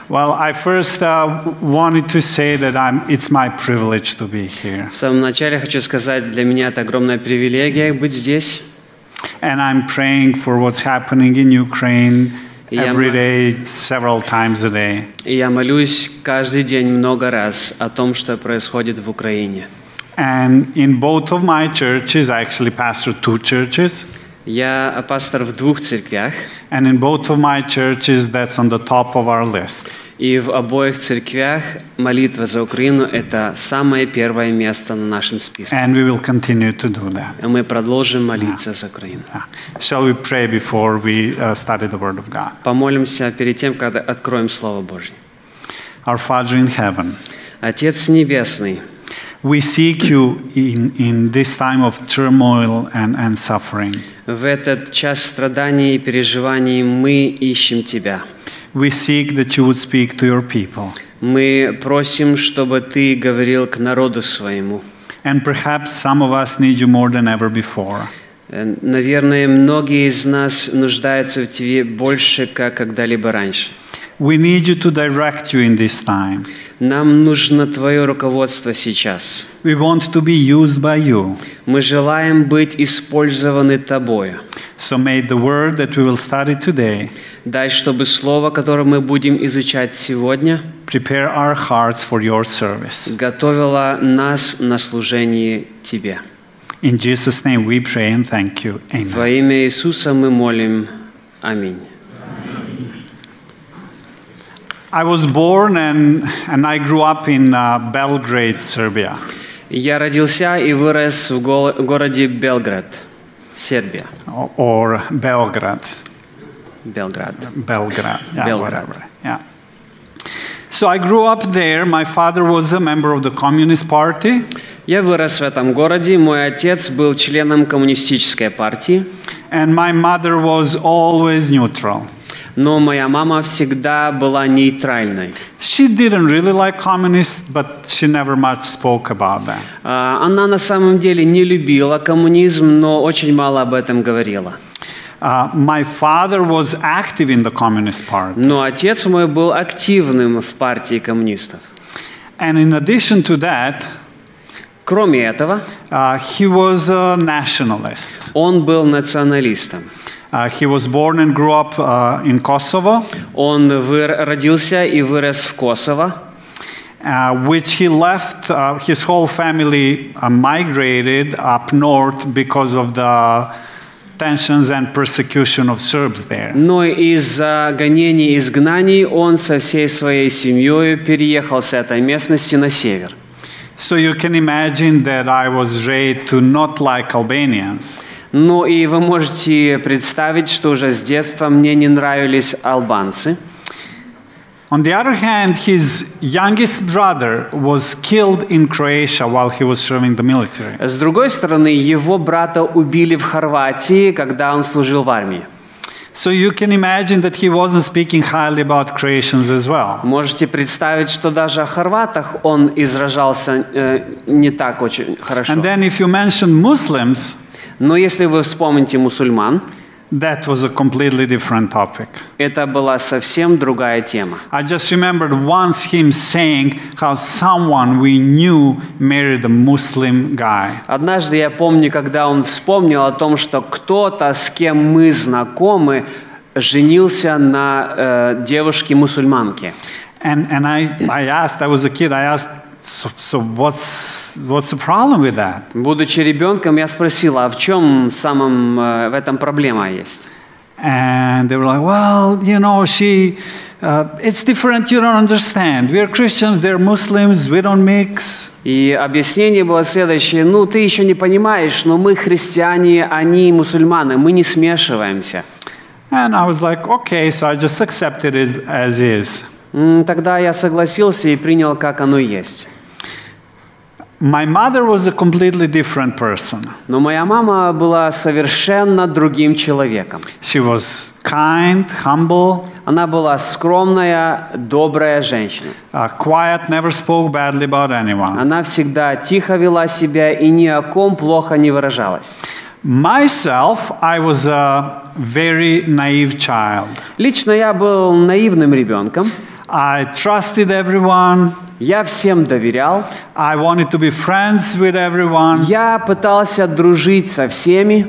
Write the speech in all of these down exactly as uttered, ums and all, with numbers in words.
Well, I first uh, wanted to say that I'm, it's my privilege to be here. В самом начале хочу сказать, для меня это огромная привилегия быть здесь. And I'm praying for what's happening in Ukraine every day, several times a day. И я молюсь каждый день много раз о том, что происходит в Украине. And in both of my churches, I actually pastor two churches. Я пастор в двух церквях. And in both of my churches, that's on the top of our list. И в обоих церквях молитва за Украину – это самое первое место на нашем списке. And we will continue to do that. И мы продолжим молиться за Украину. Shall we pray before we uh, study the Word of God? Помолимся перед тем, когда откроем Слово Божье. Our Father in heaven, Отец Небесный, we seek you in, in this time of turmoil and, and suffering. в этот час страданий и переживаний мы ищем Тебя. We seek that you would speak to your people. Мы просим, чтобы Ты говорил к народу своему. And perhaps some of us need you more than ever before. Наверное, многие из нас нуждаются в Тебе больше, как когда-либо раньше. We need you to direct you in this time. Нам нужно Твое руководство сейчас. We want to be used by you. Мы желаем быть использованы Тобою. So may the word that we will study today Дай, чтобы слово, которое мы будем изучать сегодня, prepare our hearts for your service. готовило нас на служение Тебе. In Jesus' name we pray and thank you. Amen. Во имя Иисуса мы молим. Аминь. I was born and, and I grew up in uh, Belgrade, Serbia. Я родился и вырос в го- городе Белград, Сербия. Or Belgrade. Белград. Belgrade. Yeah, Belgrade. whatever. Yeah. So I grew up there. My father was a member of the Communist Party. Я вырос в этом городе. Мой отец был членом коммунистической партии. And my mother was always neutral. Но моя мама всегда была нейтральной. She didn't really like communists, but she never much spoke about that. А, Она на самом деле не любила коммунизм, но очень мало об этом говорила. Uh, my father was active in the Communist Party. Но отец мой был активным в партии коммунистов. And in addition to that, Кроме этого, uh, he was a nationalist. он был националистом. Uh, he was born and grew up uh, in Kosovo, Он выр- родился и вырос в Косово, uh, which he left. Uh, his whole family uh, migrated up north because of the tensions and persecution of Serbs there. но из-за гонений и изгнаний он со всей своей семьей переехал с этой местности на север. So you can imagine that I was raised to not like Albanians. Ну и вы можете представить, что уже с детства мне не нравились албанцы. On the other hand, his youngest brother was killed in Croatia while he was serving the military. С другой стороны, его брата убили в Хорватии, когда он служил в армии. So you can imagine that he wasn't speaking highly about Croatians as well. Можете представить, что даже о хорватах он изражался э, не так очень хорошо. And then if you mention Muslims, Но если вы вспомните мусульман, that was a completely different topic. это была совсем другая тема. I just remembered once him saying how someone we knew married a Muslim guy. Однажды я помню, когда он вспомнил о том, что кто-то, с кем мы знакомы, женился на э, девушке-мусульманке. And, and I, I asked, I was a kid, I asked, so, so what's, what's the problem with that? Будучи ребенком, я спросил, а в чем самом, э, в этом проблема есть? And they were like, well, you know, she, uh, it's different, you don't understand. We're Christians, they're Muslims, we don't mix. И объяснение было следующее: ну, ты еще не понимаешь, но мы христиане, они мусульманы, мы не смешиваемся. And I was like, okay, so I just accepted it as is. М, Тогда я согласился и принял, как оно есть. My mother was a completely different person. Но моя мама была совершенно другим человеком. She was kind, humble, Она была скромная, добрая женщина. uh, quiet, never spoke badly about anyone. Она всегда тихо вела себя и ни о ком плохо не выражалась. Myself, I was a very naive child. Лично я был наивным ребенком. I trusted everyone. Я всем доверял. I wanted to be friends with everyone. Я пытался дружить со всеми.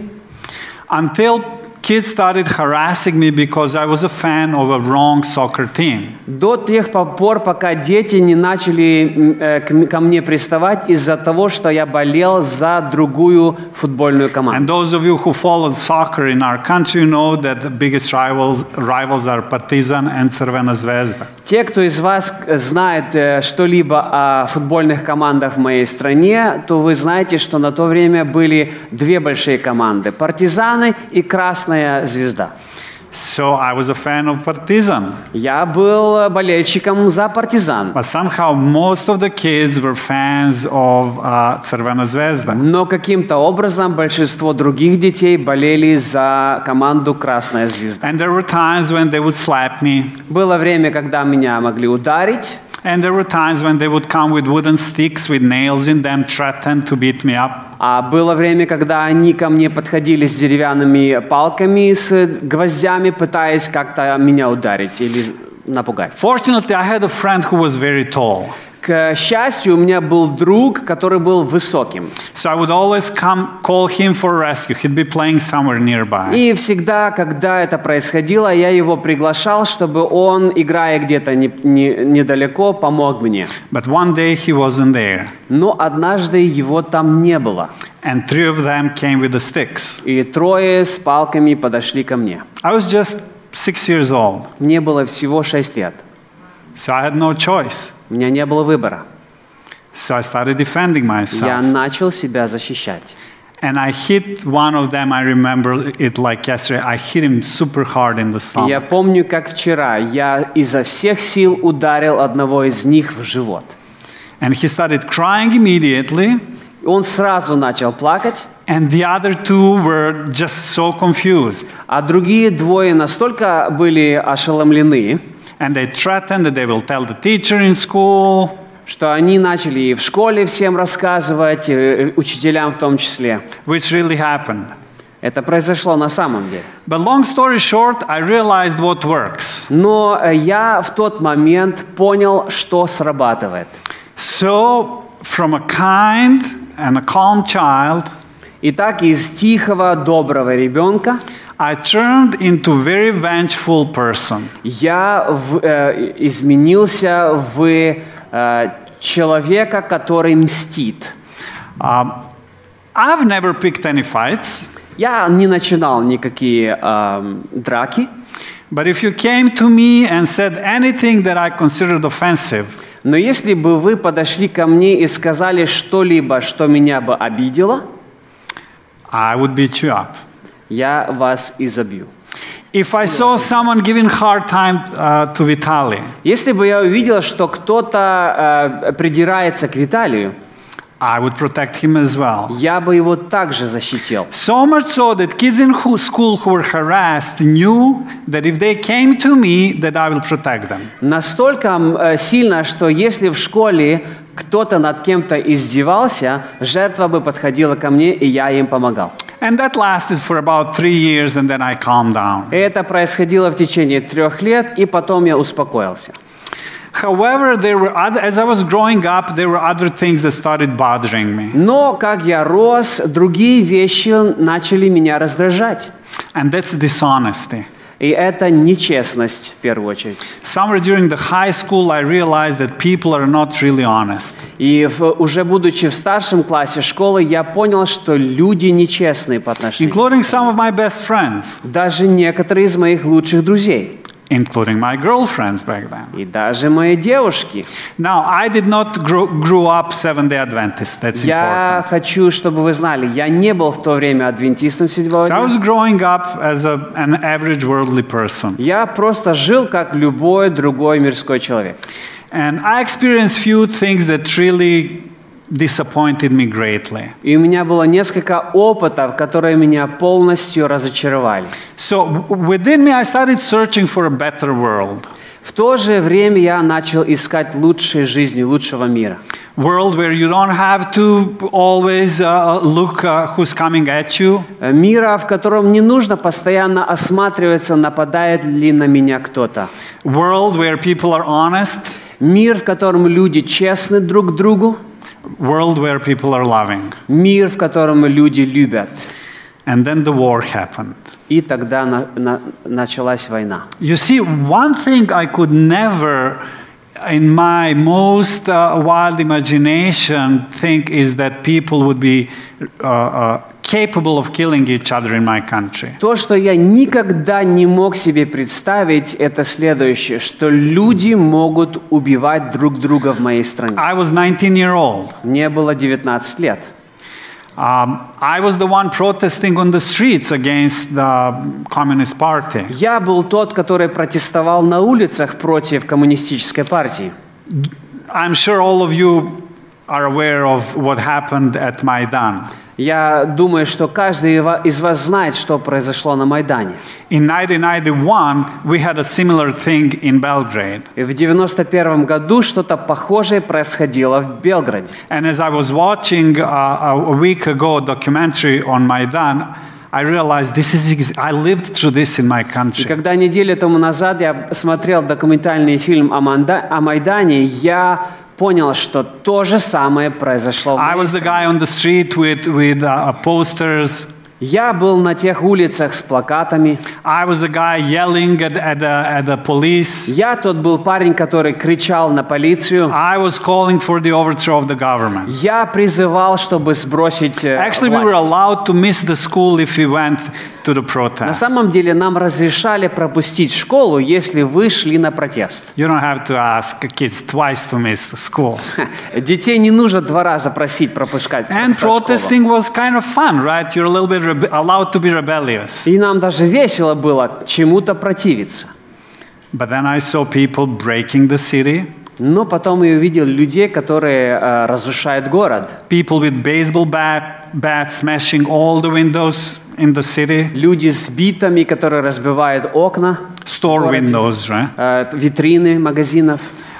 Until kids started harassing me because I was a fan of a wrong soccer team. До тех пор, пока дети не начали э, к, ко мне приставать из-за того, что я болел за другую футбольную команду. And those of you who followed soccer in our country know that the biggest rivals, rivals are Partizan and Crvena Zvezda. Те, кто из вас знает э, что-либо о футбольных командах в моей стране, то вы знаете, что на то время были две большие команды – «Партизаны» и «Красная звезда». So I was a fan of Partizan. Я был болельщиком за «Партизан». But somehow most of the kids were fans of uh, Crvena Zvezda. Но каким-то образом большинство других детей болели за команду «Красная звезда». And there were times when they would slap me. Было время, когда меня могли ударить. And there were times when they would come with wooden sticks with nails in them, threaten to beat me up. А было время, когда они ко мне подходили с деревянными палками, с гвоздями, пытаясь как-то меня ударить или напугать. Fortunately, I had a friend who was very tall. К счастью, у меня был друг, который был высоким. So I would always come call him for rescue. He'd be playing somewhere nearby. И всегда, когда это происходило, я его приглашал, чтобы он, играя где-то не, не, недалеко, помог мне. But one day he wasn't there. Но однажды его там не было. And three of them came with the sticks. И трое с палками подошли ко мне. I was just six years old. Мне было всего шесть лет. So I had no choice. У меня не было выбора. So I started defending myself. Я начал себя защищать. And I hit one of them, I remember it like yesterday. I hit him super hard in the stomach. Я помню, как вчера, я изо всех сил ударил одного из них в живот. And he started crying immediately. Он сразу начал плакать. And the other two were just so confused. А другие двое настолько были ошеломлены, And they threatened that they will tell the teacher in school. Что они начали и в школе всем рассказывать, учителям в том числе. Which really happened. Это произошло на самом деле. But long story short, I realized what works. Но я в тот момент понял, что срабатывает. So, from a kind and a calm child, Итак, из тихого, доброго ребенка I turned into a very vengeful person. я в, э, изменился в э, человека, который мстит. Um, I've never picked any fights. Я не начинал никакие э, драки. But if you came to me and said anything that I considered offensive, Но если бы вы подошли ко мне и сказали что-либо, что меня бы обидело, I would beat you up. я вас изобью. If I saw someone giving hard time uh, to Vitaly, Если бы я увидел, что кто-то э, придирается к Виталию, I would protect him as well. я бы его также защитил. So much so that kids in who, school who were harassed knew that if they came to me, that I will protect them. Настолько э, сильно, что если в школе кто-то над кем-то издевался, жертва бы подходила ко мне, и я им помогал. And that lasted for about three years, and then I calmed down. И это происходило в течение трех лет, и потом я успокоился. However, there were other, as I was growing up, there were other things that started bothering me. Но, как я рос, другие вещи начали меня раздражать. And that's dishonesty. И это нечестность, в первую очередь. Somewhere during the high school, I realized that people are not really honest. И в, уже будучи в старшем классе школы, я понял, что люди нечестные по отношению. Including some of my best friends. Даже некоторые из моих лучших друзей. Including my girlfriends back then. И даже мои девушки. Now, I did not grow, grew up Seventh-day Adventist. That's Я important. хочу, чтобы вы знали, я не был в то время адвентистом седьмого So I дня. was growing up as a, an average worldly person. Я просто жил, как любой другой мирской человек. And I experienced few things that really disappointed me greatly. И у меня было несколько опытов, которые меня полностью разочаровали. So within me, I started searching for a better world. В то же время я начал искать лучшей жизни, лучшего мира. World where you don't have to always uh, look uh, who's coming at you. Мира, в котором не нужно постоянно осматриваться, нападает ли на меня кто-то. World where people are honest. Мир, в котором люди честны друг к другу. World where people are loving. Мир, в котором люди любят. And then the war happened. И тогда на, на, началась война. You see, one thing I could never, in my most uh, wild imagination, think is that people would be uh, uh, capable of killing each other in my country. То, что я никогда не мог себе представить, это следующее, что люди могут убивать друг друга в моей стране. I was nineteen year old. Мне было девятнадцать лет. Um, I was the one protesting on the streets against the Communist Party. Я был тот, который протестовал на улицах против коммунистической партии. I'm sure all of you are aware of what happened at Maidan. Я думаю, что каждый из вас знает, что произошло на Майдане. In nineteen ninety-one, we had a similar thing in Belgrade. И в девяносто первом году что-то похожее происходило в Белграде. And as I was watching uh, a week ago a documentary on Maidan, I realized this is I lived through this in my И country. когда неделю тому назад я смотрел документальный фильм о, Манда, о Майдане, я понял, что то же самое произошло в I моей was the стране. guy on the street with with uh, posters. Я был на тех улицах с плакатами. I was the guy yelling at, at, the, at the police. Я тот был парень, который кричал на полицию. I was calling for the overthrow of the government. Я призывал, чтобы сбросить э, Actually, we were власть. allowed to miss the school if we went to the На protest. самом деле нам разрешали пропустить школу, если вы шли на протест. You don't have to ask kids twice to miss the school. Детей не нужно два раза просить пропускать. And школу. protesting was kind of fun, right? You're a little bit rebe- allowed to be rebellious. И нам даже весело было чему-то противиться. But then I saw people breaking the city, Но потом я увидел людей, которые э, разрушают город. people with baseball bat, bats smashing all the windows in the city, Люди с битами, которые разбивают окна, store городе. windows, right? э, витрины магазинов,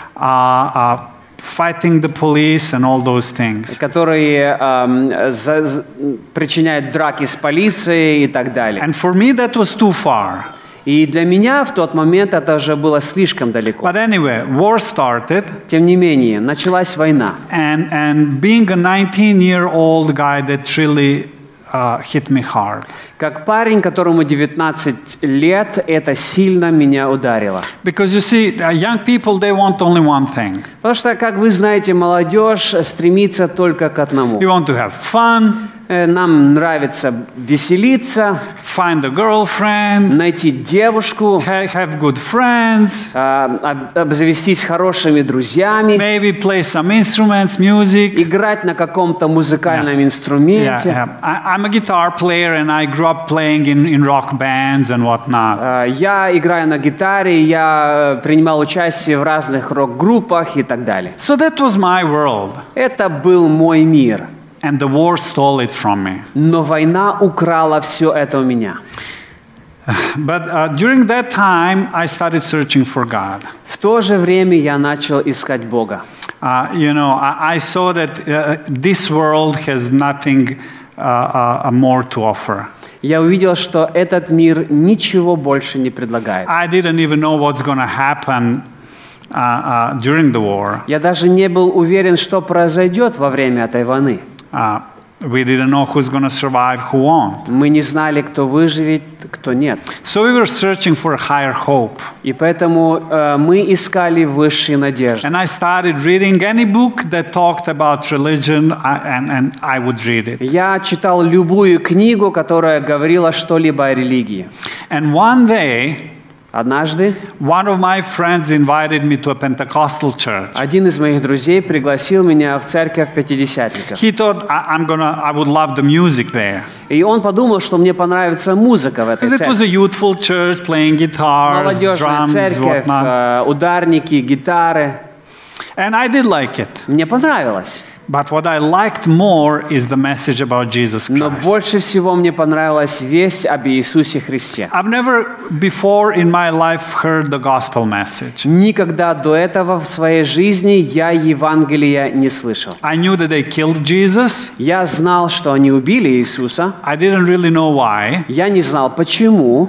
Uh, uh, fighting the police and all those things. которые эм, за- з- причиняют драки с полицией и так далее. And for me, that was too far. И для меня в тот момент это уже было слишком далеко. But anyway, war started, Тем не менее, началась война. and, and being a nineteen-year-old guy, that really uh, hit me hard. Как парень, которому девятнадцать лет, это сильно меня ударило. Because you see, uh, young people, they want only one thing. Потому что, как вы знаете, молодежь стремится только к одному. We want to have fun, Э, Нам нравится веселиться, find a girlfriend, найти девушку, ha- have good friends, а, об- обзавестись хорошими друзьями, maybe play some instruments, music. играть на каком-то музыкальном Yeah, инструменте. yeah. I, I'm a guitar player, and I grew up playing in, in rock bands and whatnot. А, Я играю на гитаре, я э, принимал участие в разных рок-группах и так далее. So that was my world, Это был мой мир. and the war stole it from me. Но война украла все это у меня. But uh, during that time, I started searching for God. В то же время я начал искать Бога. Uh, you know, I, I saw that uh, this world has nothing uh, uh, more to offer. Я увидел, что этот мир ничего больше не предлагает. I didn't even know what's going to happen uh, uh, during the war. Я даже не был уверен, что произойдет во время этой войны. Uh, we didn't know who's going to survive, who won't. Мы не знали, кто выживет, кто нет. So we were searching for a higher hope. И поэтому э, мы искали высшие надежды. And I started reading any book that talked about religion, I, and, and I would read it. Я читал любую книгу, которая говорила что-либо о религии. And one day, Однажды one of my friends invited me to a Pentecostal church. один из моих друзей пригласил меня в церковь пятидесятников. He thought I, I'm gonna, I would love the music there. И он подумал, что мне понравится музыка в этой Because it was церкви. a youthful church playing guitars, Молодежная drums, церковь, whatnot. э, ударники, гитары. And I did like it. Мне понравилось. But what I liked more is the message about Jesus Но Christ. больше всего мне понравилась весть об Иисусе Христе. I've never before in my life heard the gospel message. Никогда до этого в своей жизни я Евангелия не слышал. I knew that they killed Jesus. Я знал, что они убили Иисуса. I didn't really know why. Я не знал, почему.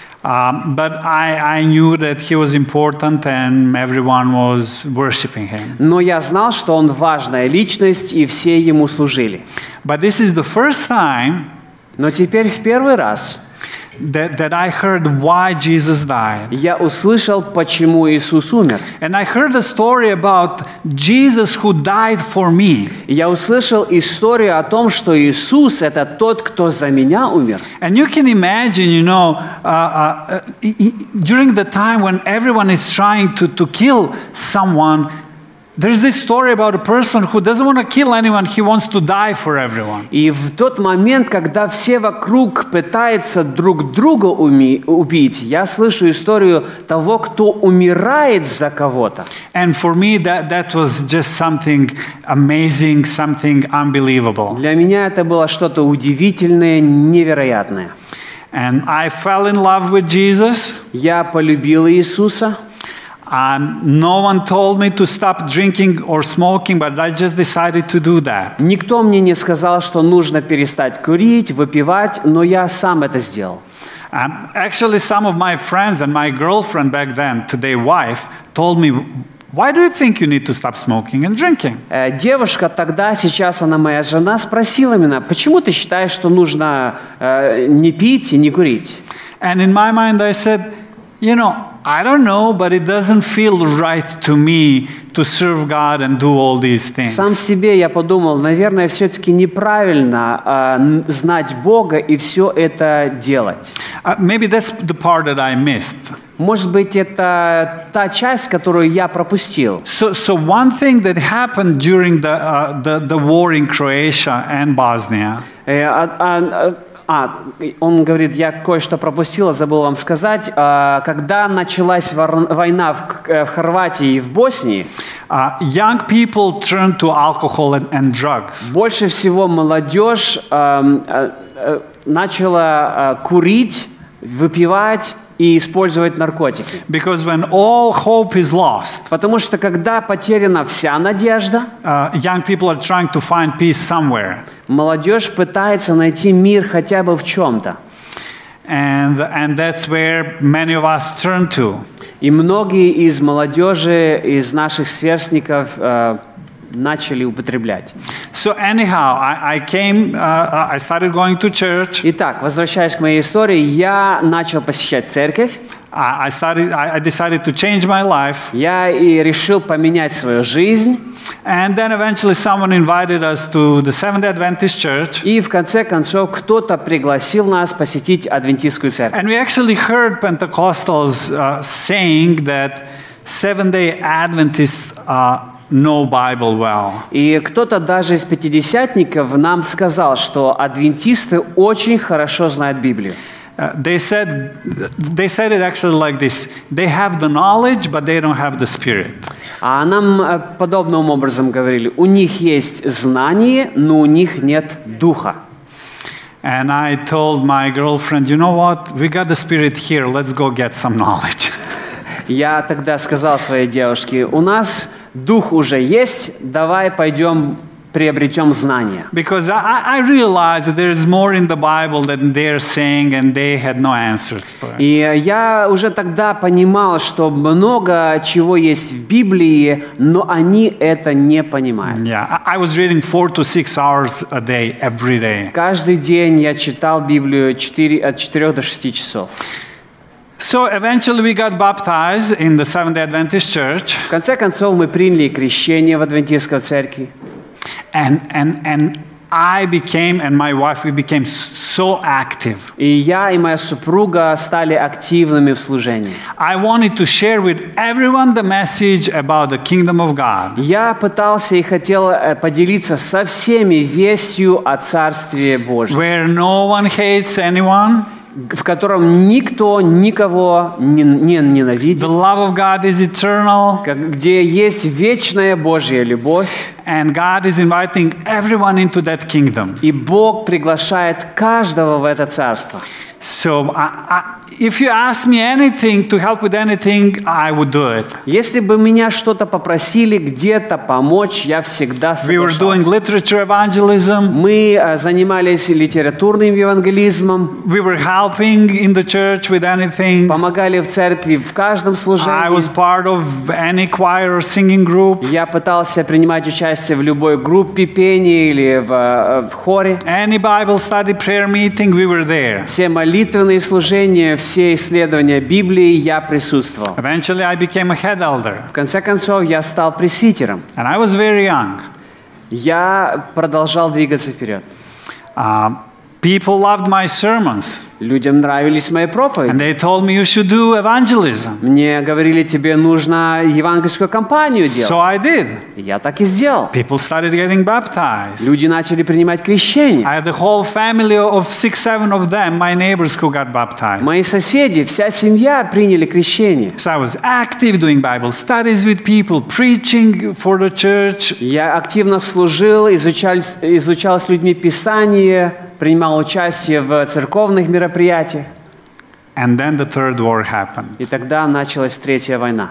Um, but I, I knew that he was important and everyone was worshiping him. Но я знал, что он важная личность, и все ему служили. But this is the first time Но теперь в первый раз that, that I heard why Jesus died. я услышал, почему Иисус умер. And I heard a story about Jesus who died for me. И я услышал историю о том, что Иисус – это тот, кто за меня умер. And you can imagine, you know, uh, uh, uh, during the time when everyone is trying to, to kill someone, there's this story about a person who doesn't want to kill anyone, he wants to die for everyone. И в тот момент, когда все вокруг пытаются друг друга уми- убить, я слышу историю того, кто умирает за кого-то. And for me, that, that was just something amazing, something unbelievable. Для меня это было что-то удивительное, невероятное. And I fell in love with Jesus. Я полюбил Иисуса. Um, no one told me to stop drinking or smoking, but I just decided to do that. Никто мне не сказал, что нужно перестать курить, выпивать, но я сам это сделал. Um, actually, some of my friends and my girlfriend back then, today wife, told me, why do you think you need to stop smoking and drinking? Э, Девушка тогда, сейчас она моя жена, спросила меня, почему ты считаешь, что нужно э, не пить и не курить? And in my mind, I said, you know, I don't know, but it doesn't feel right to me to serve God and do all these things. Сам в себе я подумал, наверное, все-таки неправильно э, знать Бога и все это делать. Uh, maybe that's the part that I missed. Может быть, это та часть, которую я пропустил. So, so one thing that happened during the, uh, the, the war in Croatia and Bosnia, Э, а- а- А, он говорит, я кое-что пропустил, забыл вам сказать. А, Когда началась вор- война в, К- в Хорватии и в Боснии, uh, young people turned to alcohol and, and drugs. больше всего молодежь ам, а, а, начала а, курить, выпивать и использовать наркотики. Because when all hope is lost, Потому что когда потеряна вся надежда, uh, young people are trying to find peace somewhere. молодежь пытается найти мир хотя бы в чем-то. And, and that's where many of us turn to. И многие из молодежи, из наших сверстников э, начали употреблять. So anyhow, I, I came, uh, I started going to church. Итак, возвращаясь к моей истории, я начал посещать церковь. I, I started, I, I decided to change my life. Я и решил поменять свою жизнь. And then eventually someone invited us to the Seventh-day Adventist Church. И в конце концов кто-то пригласил нас посетить адвентистскую церковь. And we actually heard Pentecostals uh, saying that Seventh-day Adventists uh, know Bible well. И кто-то даже из пятидесятников нам сказал, что адвентисты очень хорошо знают Библию. Uh, they said, they said it actually like this: they have the knowledge, but they don't have the Spirit. А нам э, подобным образом говорили, у них есть знание, но у них нет духа. And I told my girlfriend, you know what? We got the Spirit here. Let's go get some knowledge. Я тогда сказал своей девушке, у нас дух уже есть, давай пойдем приобретем знания. Because I, I realized that there is more in the Bible than they're saying, and they had no answers to it. И я уже тогда понимал, что много чего есть в Библии, но они это не понимают. Yeah, I, I was reading four to six hours a day, every day. Каждый день я читал Библию четыре, от четырёх до шести часов. So eventually we got baptized in the Seventh-day Adventist Church. В конце концов мы приняли крещение в адвентистской церкви. And, and, and I became, and my wife, we became so active. И я и моя супруга стали активными в служении. I wanted to share with everyone the message about the kingdom of God. Я пытался и хотел э, поделиться со всеми вестью о Царстве Божьем, Where no one hates anyone, в котором никто никого не, не ненавидит, The love of God is eternal. как- где есть вечная Божья любовь, And God is inviting everyone into that kingdom. и Бог приглашает каждого в это царство. So I, I, if you ask me anything to help with anything, I would do it. Если бы меня что-то попросили где-то помочь, я всегда We were doing соглашался. literature evangelism. Мы э, занимались литературным евангелизмом, We were helping in the church with anything. помогали в церкви в каждом I служении. was part of any choir or singing group. Я пытался принимать участие в любой группе пения или в, э, в хоре. Any Bible study prayer meeting, we were there. Все молитвенные служения, все исследования Библии я присутствовал. Eventually, I became a head elder. В конце концов, я стал пресвитером. And I was very young. Я продолжал двигаться вперед. Uh, people loved my sermons. Людям нравились мои проповеди. And they told me you should do evangelism. Мне говорили, тебе нужно евангельскую кампанию So делать. I did. И я так и сделал. People started getting baptized. Люди начали принимать крещение. I had a whole family of six, seven of them, my neighbors who got baptized. Мои соседи, вся семья приняли крещение. So I was active doing Bible studies with people, preaching for the church. Я активно служил, изучал, изучал с людьми Писание, принимал участие в церковных мероприятиях. And then the third war happened. И тогда началась Третья война.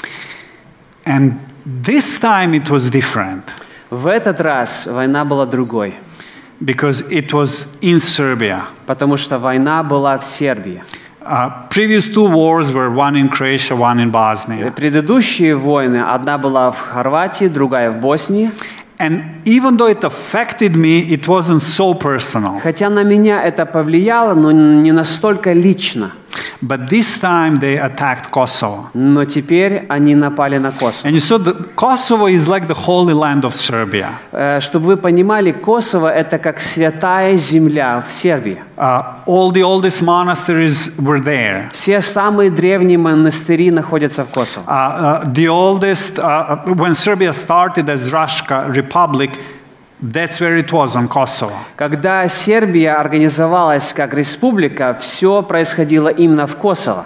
And this time it was different В этот раз война была другой, because it was in Serbia. потому что война была в Сербии. Uh, previous two wars were one in Croatia, one in Bosnia. Предыдущие войны, одна была в Хорватии, другая в Боснии. And even though it affected me, it wasn't so personal. Хотя на меня это повлияло, но не настолько лично. But this time they attacked Kosovo. Но теперь они напали на Косово. And you saw that Kosovo is like the holy land of Serbia. Э, Чтобы вы понимали, Косово — это как святая земля в Сербии. Uh, all the oldest monasteries were there. Все самые древние монастыри находятся в Косово. Uh, uh, the oldest, uh, when Serbia started as Raška Republic, that's where it was, on Kosovo. Когда Сербия организовалась как республика, все происходило именно в Косово.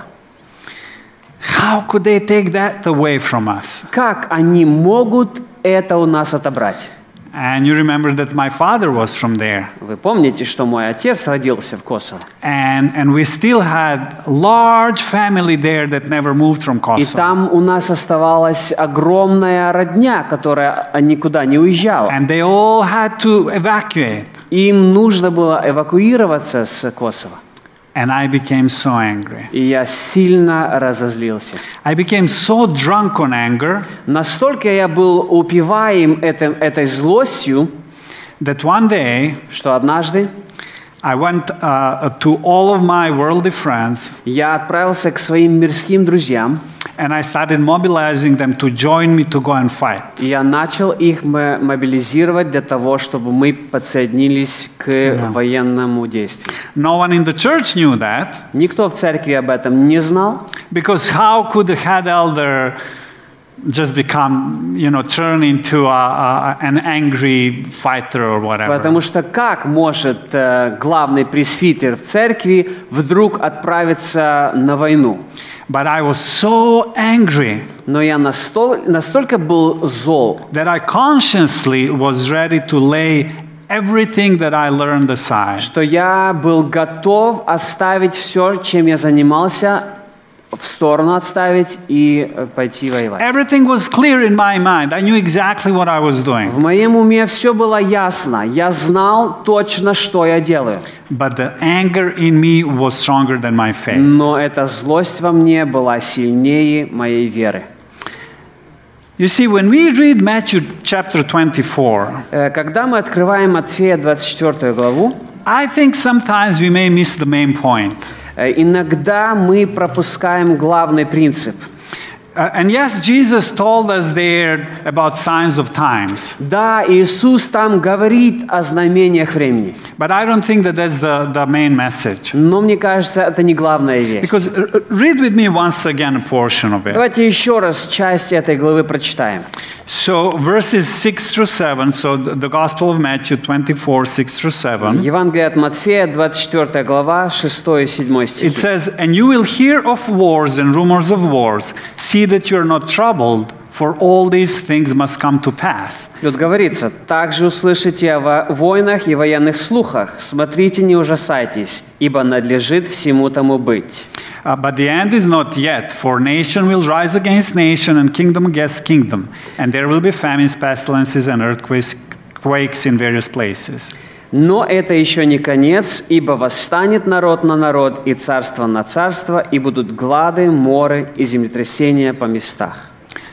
How could they take that away from us? Как они могут это у нас отобрать? And you remember that my father was from there. Вы помните, что мой отец родился в Косово. And, and we still had large family there that never moved from И Kosovo. там у нас оставалась огромная родня, которая никуда не уезжала. And they all had to evacuate. Им нужно было эвакуироваться с Косово. And I became so angry. И я сильно разозлился. I became so drunk on anger Настолько я был упиваем этим, этой злостью, that one day что однажды I went uh, to all of my worldly friends я отправился к своим мирским друзьям, and I started mobilizing them to join me to go and fight. и я начал их мо- мобилизировать для того, чтобы мы подсоединились к военному действию. No one in the church knew that, Никто в церкви об этом не знал, because how could the head elder just become, you know, turn into a, a, an angry fighter or whatever? потому что как может э, главный пресвитер в церкви вдруг отправиться на войну? But I was so angry Но я настол- настолько был зол, that I consciously was ready to lay everything that I learned aside. что я был готов оставить все, чем я занимался, в сторону отставить и э, пойти воевать. Everything was clear in my mind. I knew exactly what I was doing. В моем уме все было ясно. Я знал точно, что я делаю. But the anger in me was stronger than my faith. Но эта злость во мне была сильнее моей веры. You see, when we read Matthew chapter twenty-four, Э, Когда мы открываем Матфея двадцать четвёртую главу, I think sometimes we may miss the main point. э, иногда мы пропускаем главный принцип. Uh, and yes, Jesus told us there about signs of times. Да, Иисус там говорит о знамениях времени. But I don't think that that's the, the main message. Но мне кажется, это не главная весть. Because uh, read with me once again a portion of it. Давайте еще раз часть этой главы прочитаем. So verses six through seven, so the, the Gospel of Matthew twenty-four, six through seven. Евангелие от Матфея, двадцать четвёртая глава, шестой и седьмой It стихи. says, "And you will hear of wars and rumors of wars. See that you are not troubled, for all these things must come to pass." Тут говорится: «Также услышите о во- войнах и военных слухах. Смотрите, не ужасайтесь, ибо надлежит всему тому быть». Uh, but the end is not yet, for nation will rise against nation and kingdom against kingdom, and there will be famines, pestilences, and earthquakes quakes in various places. Но это еще не конец, ибо восстанет народ на народ, и царство на царство, и будут глады, моры и землетрясения по местах.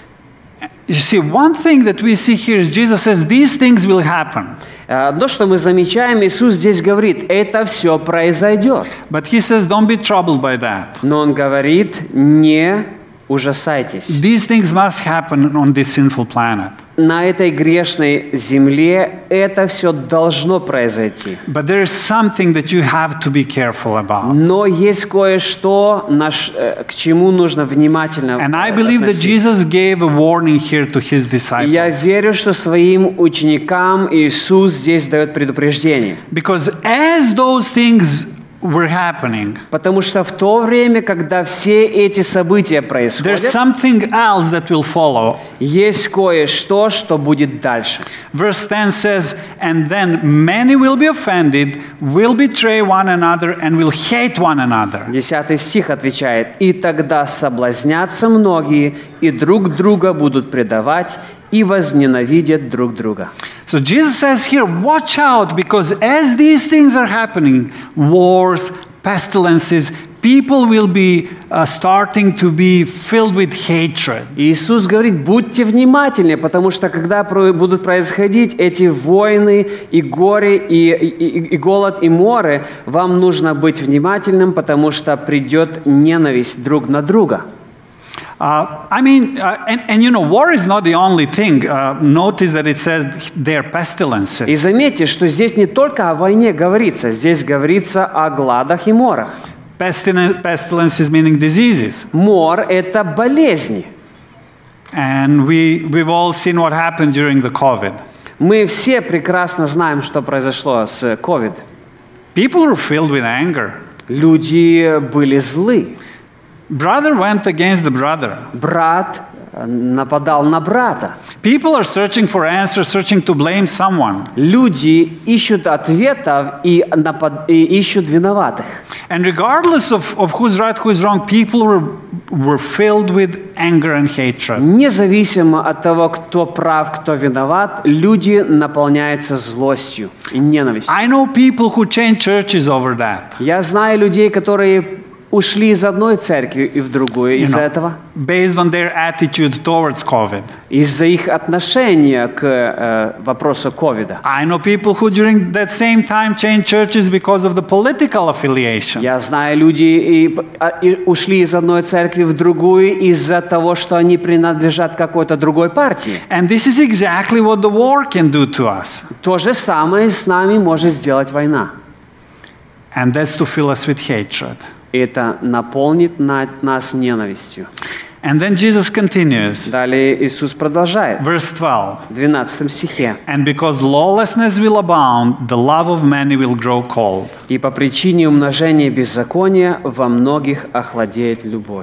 You see, one thing that we see here is Jesus says these things will happen. Одно, что мы замечаем, Иисус здесь говорит: это все произойдет. But he says, don't be troubled by that. Но Он говорит: не ужасайтесь. These things must happen on this sinful planet. На этой грешной земле это все должно произойти. But there is something that you have to be careful about. Но есть кое-что, наш, э, к чему нужно внимательно And I э, believe that относиться. Jesus gave a warning here to his disciples. Я верю, что своим ученикам Иисус здесь дает предупреждение. Because as those things were happening, Потому что в то время, когда все эти события there's происходят, something else that will follow. есть кое-что, что будет дальше. Verse ten says, "And then many will be offended, will betray one another, and will hate one another." Десятый стих отвечает: «И тогда соблазнятся многие, и друг друга будут предавать, и возненавидят друг друга». So Jesus says here, watch out, because as these things are happening, wars, pestilences, people will be uh, starting to be filled with hatred. Иисус говорит: будьте внимательны, потому что когда про- будут происходить эти войны и горе, и, и- и голод, и море, вам нужно быть внимательным, потому что придет ненависть друг на друга. Uh, I mean, uh, and, and you know, war is not the only thing. Uh, notice that it says they're pestilences. И заметьте, что здесь не только о войне говорится, здесь говорится о гладах и морах. Pestilence, pestilences meaning diseases. Мор – это болезни. And we, we've all seen what happened during the COVID. Мы все прекрасно знаем, что произошло с COVID. People were filled with anger. Люди были злы. Brother went against the brother. Брат нападал на брата. People are searching for answers, searching to blame someone. Люди ищут ответов и, напад... и ищут виноватых. And regardless of, of who's right, who's wrong, people were, were filled with anger and hatred. Независимо от того, кто прав, кто виноват, люди наполняются злостью и ненавистью. I know people who change churches over that. Я знаю людей, которые ушли из одной церкви и в другую You из-за know, этого, based on their attitude towards COVID. из-за их отношения к э, вопросу ковида. I know people who during that same time changed churches because of the political affiliation. Я знаю людей и, а, и ушли из одной церкви в другую из-за того, что они принадлежат какой-то другой партии. And this is exactly what the war can do to us. То же самое с нами может сделать война. And that's to fill us with hatred. Это наполнит на- нас ненавистью. And then Jesus continues, Далее Иисус продолжает verse twelve. в двенадцатом стихе. And because lawlessness will abound, the love of many will grow cold. «И по причине умножения беззакония во многих охладеет любовь».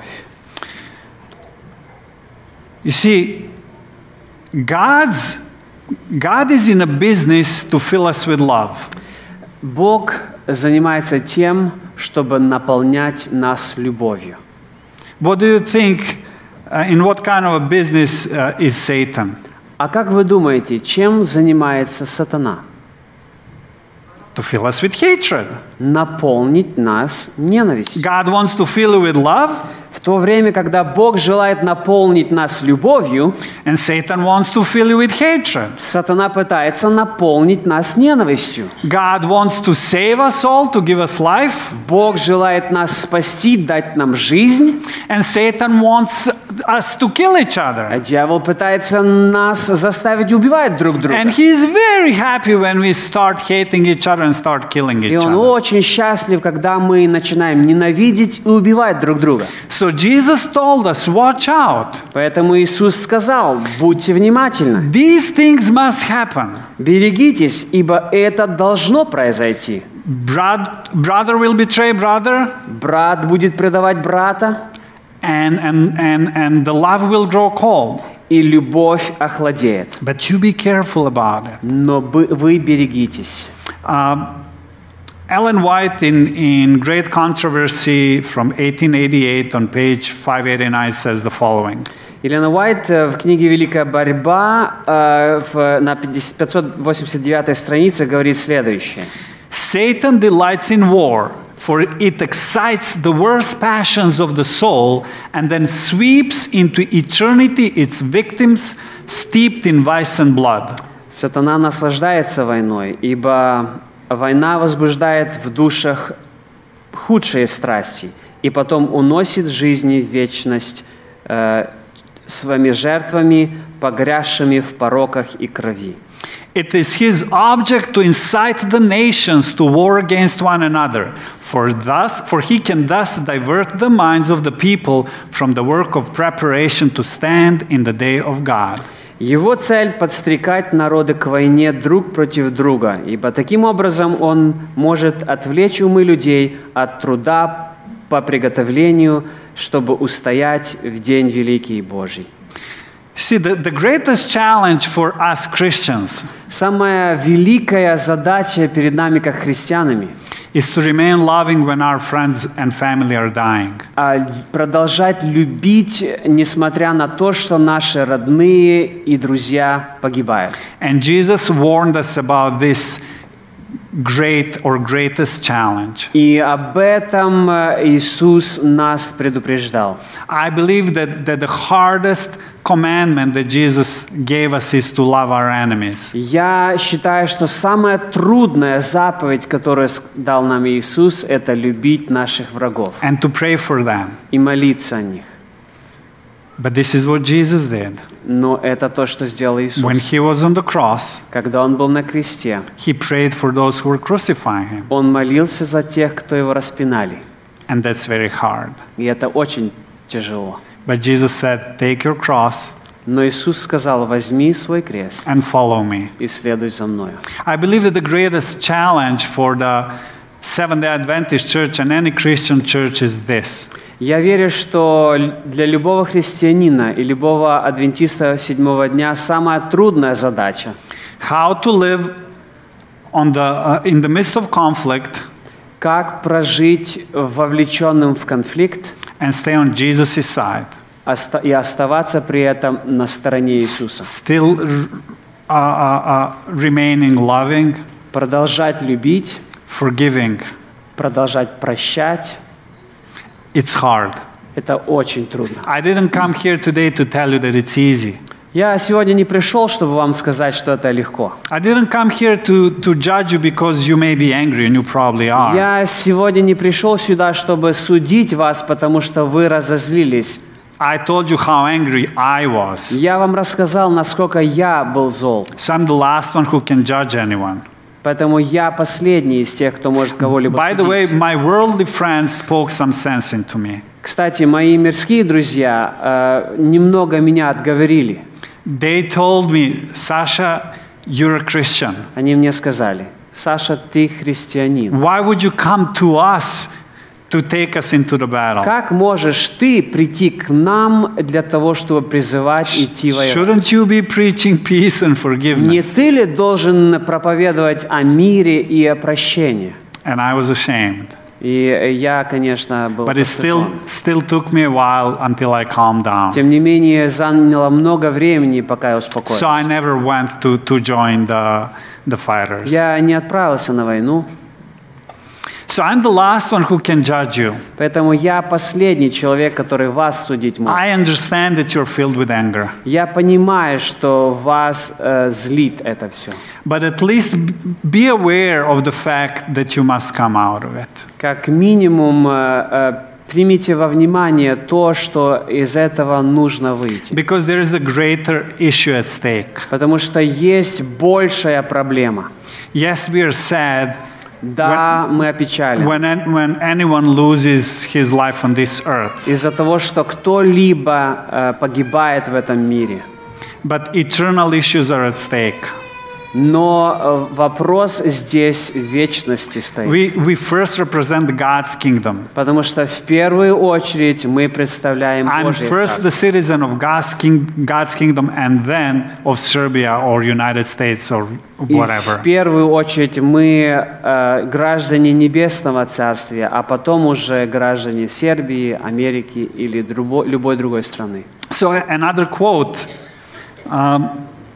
You see, God's, God is in a business to fill us with love. Бог занимается тем, чтобы наполнять нас любовью. What do you think, uh, in what kind of a business uh, is Satan? А как вы думаете, чем занимается сатана? To fill us with hatred. Наполнить нас ненавистью. God wants to fill you with love. В то время, когда Бог желает наполнить нас любовью, and Satan wants to fill you with hatred. сатана пытается наполнить нас ненавистью. God wants to save us all, to give us life, Бог желает нас спасти, дать нам жизнь, and Satan wants us to kill each а other. дьявол пытается нас заставить убивать друг друга. And he is very happy when we start hating each other and start killing И each он other. очень счастлив, когда мы начинаем ненавидеть и убивать друг друга. So Jesus told us, watch out. Поэтому Иисус сказал: будьте внимательны, These things must happen. берегитесь, ибо это должно произойти. Brad, brother will betray brother, Брат будет предавать брата, and, and, and, and the love will grow cold. и любовь охладеет. But you be careful about it. Но бы- вы берегитесь. Uh, Ellen White, in, in Great Controversy from eighteen eighty-eight on page five eighty-nine, says the following. Елена Уайт э, в книге «Великая борьба» э, в- на пятьдесят пятьсот восемьдесят девятой странице говорит следующее. Satan delights in war, for it excites the worst passions of the soul and then sweeps into eternity its victims steeped in vice and blood. Сатана наслаждается войной, ибо война возбуждает в душах худшие страсти, и потом уносит жизни в вечность э, своими жертвами, погрязшими в пороках и крови. It is his object to incite the nations to war against one another, for thus, for he can thus divert the minds of the people from the work of preparation to stand in the day of God. Его цель – подстрекать народы к войне друг против друга, ибо таким образом он может отвлечь умы людей от труда по приготовлению, чтобы устоять в день великий Божий. See, the, the greatest challenge for us Christians Самая великая задача перед нами, как христианами, is to remain loving when our friends and family are dying. а продолжать любить, несмотря на то, что наши родные и друзья погибают. And Jesus warned us about this great or greatest challenge. И об этом э, Иисус нас предупреждал. I believe that, that the hardest commandment that Jesus gave us is to love our enemies. Я считаю, что самая трудная заповедь, которую с- дал нам Иисус, это любить наших врагов And to pray for them. и молиться о них. But this is what Jesus did. Но это то, что сделал When Иисус. he was on the cross, Когда Он был на кресте, he prayed for those who were crucifying him. Он молился за тех, кто Его распинали. And that's very hard. И это очень тяжело. But Jesus said, take your cross Но Иисус сказал: возьми свой крест and follow me. и следуй за мною. I believe that the greatest challenge for the Seventh-day Adventist church and any Christian church is this. Я верю, что для любого христианина и любого адвентиста седьмого дня самая трудная задача How to live on the, uh, in the midst of conflict – как прожить вовлеченным в конфликт and stay on Jesus' side. оста- и оставаться при этом на стороне Иисуса. Still uh, uh, uh, remaining loving, Продолжать любить, forgiving. продолжать прощать It's hard. – это очень трудно. I didn't come here today to tell you that it's easy. Я сегодня не пришел, чтобы вам сказать, что это легко. I didn't come here to, to judge you because you may be angry, and you probably are. Я сегодня не пришел сюда, чтобы судить вас, потому что вы разозлились. I told you how angry I was. Я вам рассказал, насколько я был зол. So I'm the last one who can judge anyone. Поэтому я последний из тех, кто может кого-либо By the way, судить. my worldly friends spoke some sense into me. Кстати, мои мирские друзья э, немного меня отговорили. They told me, Sasha, you're a Christian. Они мне сказали: Саша, ты христианин. Why would you come to us to take us into the battle? Как можешь ты прийти к нам для того, чтобы призывать идти воевать? Shouldn't you be preaching peace and Не forgiveness? ты ли должен проповедовать о мире и о прощении? And I was ashamed. И я, конечно, был But it still, постыжен. still took me a while until I calmed down. Тем не менее, заняло много времени, пока я So успокоился. I never went to, to join the, the fighters. Я не отправился на войну. So I'm the last one who can judge you. Поэтому я последний человек, который вас судить может. I understand that you're filled with anger. Я понимаю, что вас э, злит это все. But at least be aware of the fact that you must come out of it. Как минимум, э, э, примите во внимание то, что из этого нужно выйти. Because there is a greater issue at stake. Потому что есть большая проблема. Yes, we are sad. Да, мы опечалены. When, when anyone loses his life on this earth. Из-за того, что кто-либо э, погибает в этом мире. But eternal issues are at stake. Но э, вопрос здесь в вечности стоит. We, we first represent God's kingdom. Потому что в первую очередь мы представляем I'm Божье first the царство. citizen of God's, king, God's kingdom and then of Serbia or United States or И whatever. в первую очередь мы э, граждане Небесного Царствия, а потом уже граждане Сербии, Америки или друго, любой другой страны. So another quote um,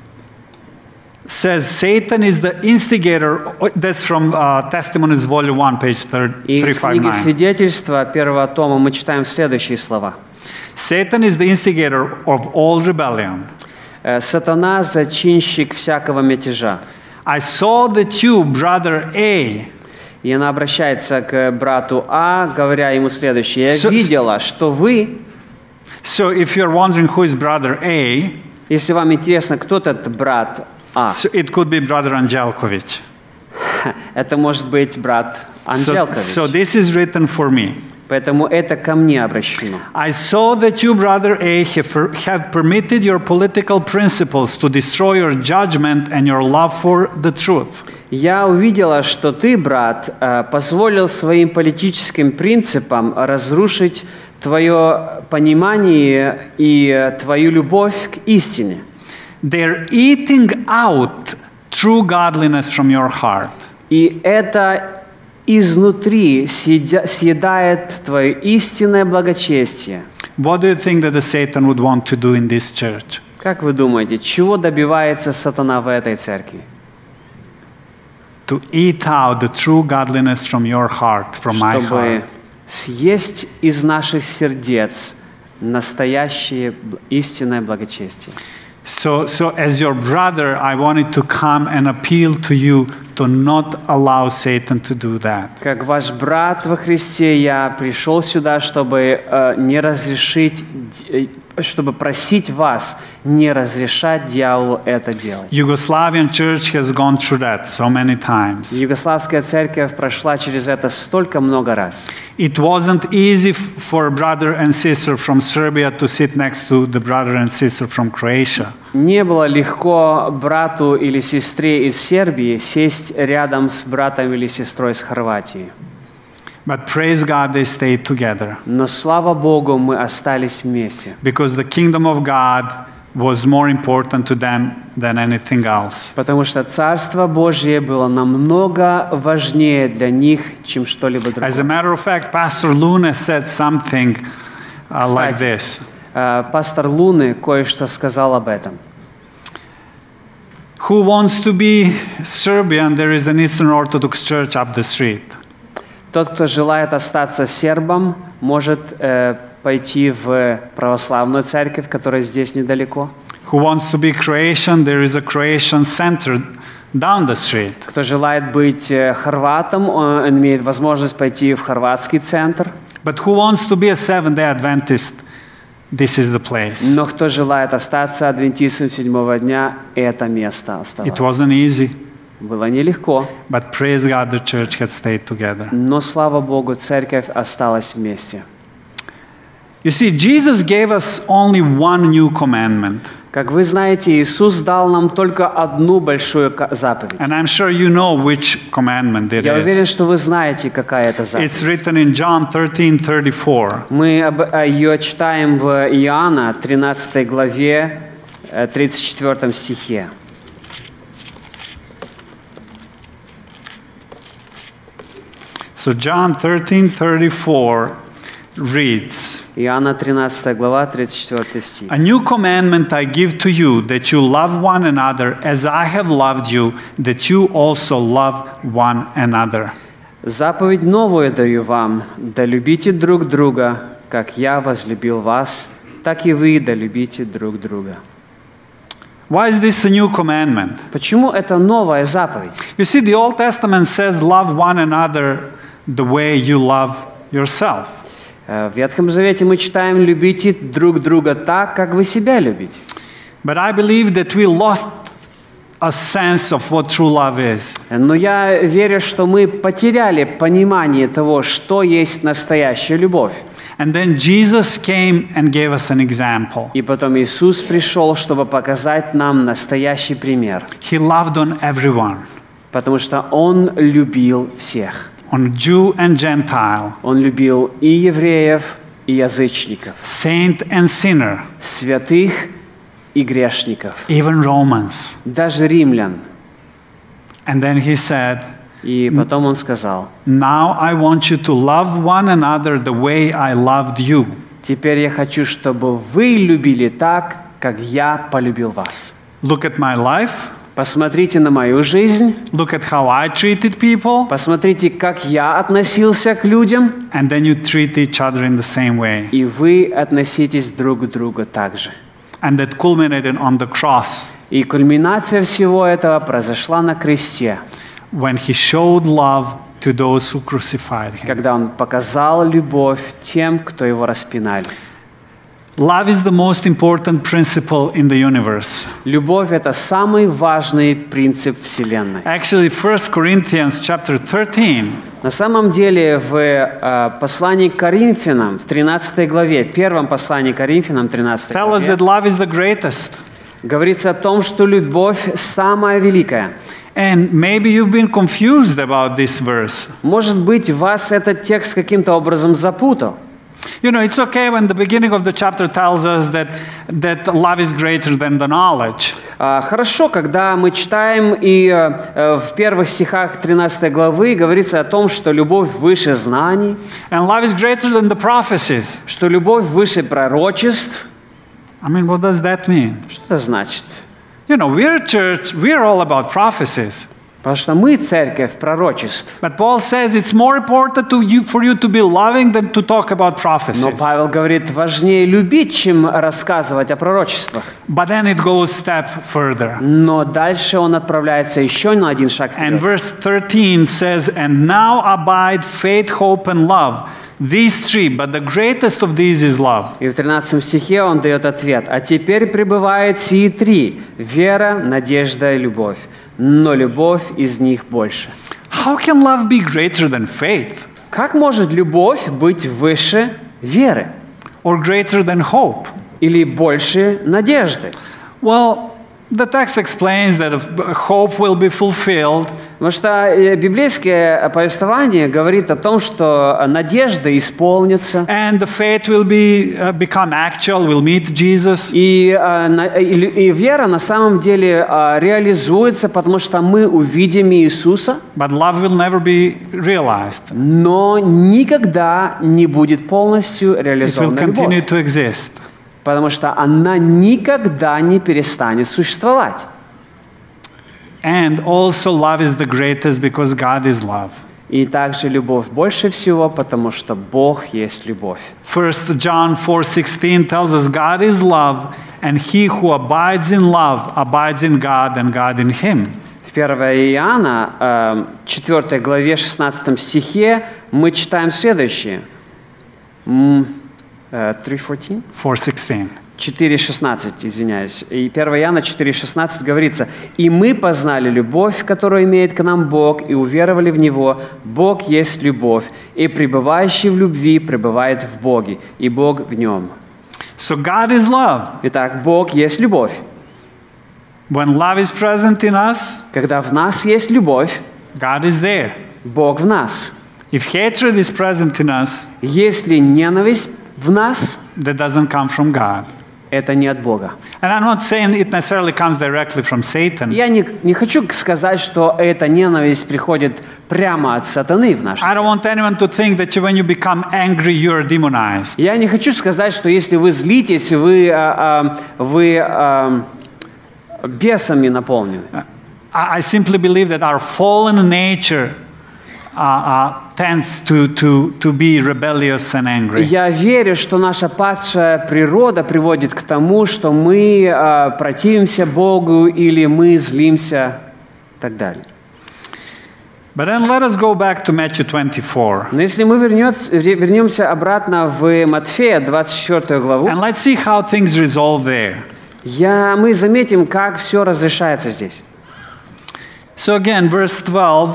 says Satan is the instigator. That's from uh, Testimonies Volume one, page И three из книги fifty-nine. Свидетельства первого тома мы читаем следующие слова. Satan is the instigator of all rebellion. Э, «Сатана – зачинщик всякого мятежа». I saw that you, brother A, И она обращается к брату А, говоря ему следующее. «Я So- видела, что вы...» so if you're wondering who is brother A, Если вам интересно, кто этот брат А, so it could be brother Angelkovich. это может быть брат So, Анжелкович. so this is written for me. Поэтому это ко мне обращено. I saw that you, brother A, have, have permitted your political principles to destroy your judgment and your love for the truth. Я увидела, что ты, брат, э, позволил своим политическим принципам разрушить твое понимание и э, твою любовь к истине. They're eating out true godliness from your heart. И это изнутри съедя- съедает твое истинное благочестие. What do you think that the Satan would want to do in this church? Как вы думаете, чего добивается сатана в этой церкви? To eat out the true godliness from your heart, from my Чтобы heart. съесть из наших сердец настоящее б- истинное благочестие. So, so as your brother, I wanted to come and appeal to you to not allow Satan to do that. Как ваш брат во Христе, я пришел сюда, чтобы э, не разрешить, д- э, чтобы просить вас не разрешать дьяволу это делать. Yugoslavian church has gone through that so many times. Югославская церковь прошла через это столько много раз. It wasn't easy f- for a brother and sister from Serbia to sit next to the brother and sister from Croatia. Не было легко брату или сестре из Сербии сесть рядом с братом или сестрой из Хорватии. But praise God, they stayed together Но слава Богу, мы остались вместе. because the kingdom of God was more important to them than anything else. Потому что Царство Божье было намного важнее для них, чем что-либо другое. As a matter of fact, Pastor Luna said something uh, like Кстати, this. э, пастор Луны кое-что сказал об этом. Who wants to be Serbian? There is an Eastern Orthodox church up the street. Тот, кто желает остаться сербом, может э, пойти в православную церковь, которая здесь недалеко. Who wants to be Croatian? There is a Croatian center down the street. Кто желает быть э, хорватом, он имеет возможность пойти в хорватский центр. But who wants to be a Seventh-day Adventist? This is the place. Но кто желает остаться адвентистом седьмого дня, это место It оставаться. wasn't easy, Было нелегко, but praise God, the church had stayed together. но, слава Богу, церковь осталась вместе. You see, Jesus gave us only one new commandment. Как вы знаете, Иисус дал нам только одну большую ка- заповедь. And I'm sure you know which commandment it Я уверен, is. что вы знаете, какая это заповедь. It's written in John thirteen thirty-four. Мы об- э, ее читаем в Иоанна тринадцатой главе, э, тридцать четвёртом стихе. So John thirteen thirty-four reads, Иоанна тринадцатая глава, тридцать четвёртый стих. A new commandment I give to you, that you love one another as I have loved you, that you also love one another. Заповедь новую даю вам, да любите друг друга, как я возлюбил вас, так и вы да любите друг друга. Why is this a new commandment? Почему это новая заповедь? You see, the Old Testament says, love one another the way you love yourself. В Ветхом Завете мы читаем: любите друг друга так, как вы себя любите. But I believe that we lost a sense of what true love is. Но я верю, что мы потеряли понимание того, что есть настоящая любовь. And then Jesus came and gave us an example. И потом Иисус пришел, чтобы показать нам настоящий пример. He loved on everyone, Потому что Он любил всех. on Jew and Gentile, Он любил и евреев, и язычников, saint and sinner, святых и грешников, even Romans. даже римлян. And then he said, И потом Он сказал: now I want you to love one another the way I loved you. «Теперь я хочу, чтобы вы любили так, как я полюбил вас». Look at my life. Посмотрите на мою жизнь, Look at how I treated people. посмотрите, как я относился к людям, And then you treat each other in the same way. и вы относитесь друг к другу так же. And that culminated on the cross И кульминация всего этого произошла на кресте, when he showed love to those who crucified him. когда Он показал любовь тем, кто Его распинали. Love is the most important principle in the universe. Любовь – это самый важный принцип Вселенной. Actually, First Corinthians chapter thirteen На самом деле, в э, послании к Коринфянам, в тринадцатой главе, первом послании к Коринфянам, тринадцатой tells us главе, that love is the greatest. говорится о том, что любовь самая великая. And maybe you've been confused about this verse. Может быть, вас этот текст каким-то образом запутал. You know, it's okay when the beginning of the chapter tells us that, that love is greater than the knowledge. А, Хорошо, когда мы читаем, и э, в первых стихах тринадцатой главы говорится о том, что любовь выше знаний, And love is greater than the prophecies. что любовь выше пророчеств. I mean, what does that mean? Что это значит? You know, we're a church, we're all about prophecies. Потому что мы церковь пророчеств. But Paul says it's more important to you, for you to be loving than to talk about prophecies. Но Павел говорит, важнее любить, чем рассказывать о пророчествах. But then it goes step further. Но дальше он отправляется еще на один шаг And вперед. verse thirteen says, and now abide faith, hope, and love. These three, but the greatest of these is love. И в тринадцатом стихе он дает ответ. «А теперь пребывает сии три – вера, надежда и любовь. Но любовь из них больше». How can love be greater than faith? Как может любовь быть выше веры? Or greater than hope? Или больше надежды? Well, the text explains that if hope will be fulfilled. Потому что э, библейское повествование говорит о том, что надежда исполнится, And the faith will be uh, become actual, will meet Jesus. и, э, на- и, лю- и вера на самом деле э, реализуется, потому что мы увидим Иисуса, But love will never be realized. но никогда не будет полностью It will реализована continue любовь, to exist. потому что она никогда не перестанет существовать. And also love is the greatest because God is love. И также любовь больше всего, потому что Бог есть любовь. First John four sixteen tells us God is love, and he who abides in love abides in God and God in him. В первое Иоанна, э, четвёртой главе, шестнадцатом стихе мы читаем следующее. М, э, три четырнадцать? four sixteen. четыре шестнадцать, извиняюсь. И первое Иоанна четыре шестнадцать говорится: «И мы познали любовь, которую имеет к нам Бог, и уверовали в Него. Бог есть любовь, и пребывающий в любви пребывает в Боге, и Бог в Нем». So God is love. Итак, Бог есть любовь. When love is present in us, Когда в нас есть любовь, God is there. Бог в нас. If hatred is present in us, Если ненависть в нас, that doesn't come from God. это не от Бога. And I'm not saying it necessarily comes directly from Satan. Я не, не хочу сказать, что эта ненависть приходит прямо от сатаны в наше I don't сердце. want anyone to think that you, when you become angry, you're demonized. Я не хочу сказать, что если вы злитесь, вы, а, а, вы а, бесами наполнены. I I simply believe that our fallen nature uh, tends to, to, to be rebellious and angry. Я верю, что наша падшая природа приводит к тому, что мы э, противимся Богу или мы злимся и так далее. But then let us go back to Matthew twenty-four. Но если мы вернется, вернемся обратно в Матфея двадцать четвёртую главу, And let's see how things resolve there. я, мы заметим, как все разрешается здесь. So again, verse twelve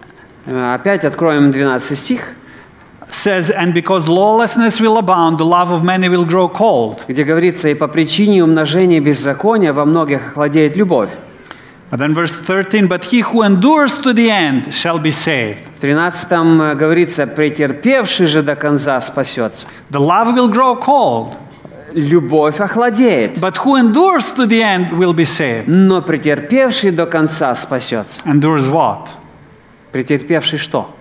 Э, Опять откроем двенадцатый стих, says, "And because lawlessness will abound, the love of many will grow cold." где говорится, «И по причине умножения беззакония во многих охладеет любовь». But then verse thirteen, "But he who endures to the end shall be saved." В тринадцатом э, говорится, «Претерпевший же до конца спасется». The love will grow cold, Любовь охладеет, but who endures to the end will be saved. но претерпевший до конца спасется. Endures what? Претерпевший что?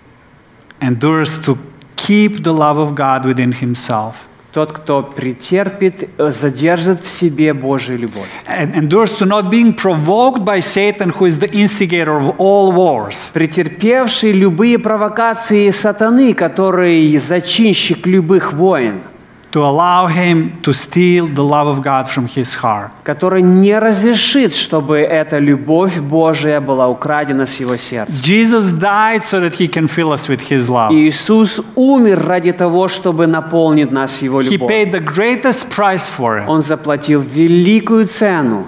Endures to keep the love of God within himself. Тот, кто претерпит, э, задержит в себе Божию любовь. And endures to not being provoked by Satan, who is the instigator of all wars. Претерпевший любые провокации сатаны, который зачинщик любых войн, To allow him to steal the love of God from his heart. который не разрешит, чтобы эта любовь Божия была украдена с его сердца. Jesus died so that he can fill us with his love. Иисус умер ради того, чтобы наполнить нас его He любовью. paid the greatest price for it. Он заплатил великую цену.